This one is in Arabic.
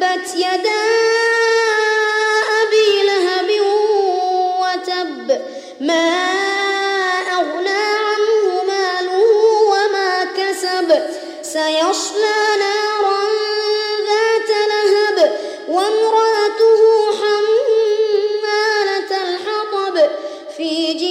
تبت يدا أبي لهب وتب ما أغنى عنه ماله وما كسب سيصلى نارا ذات لهب وامرأته حمالة الحطب في جيدها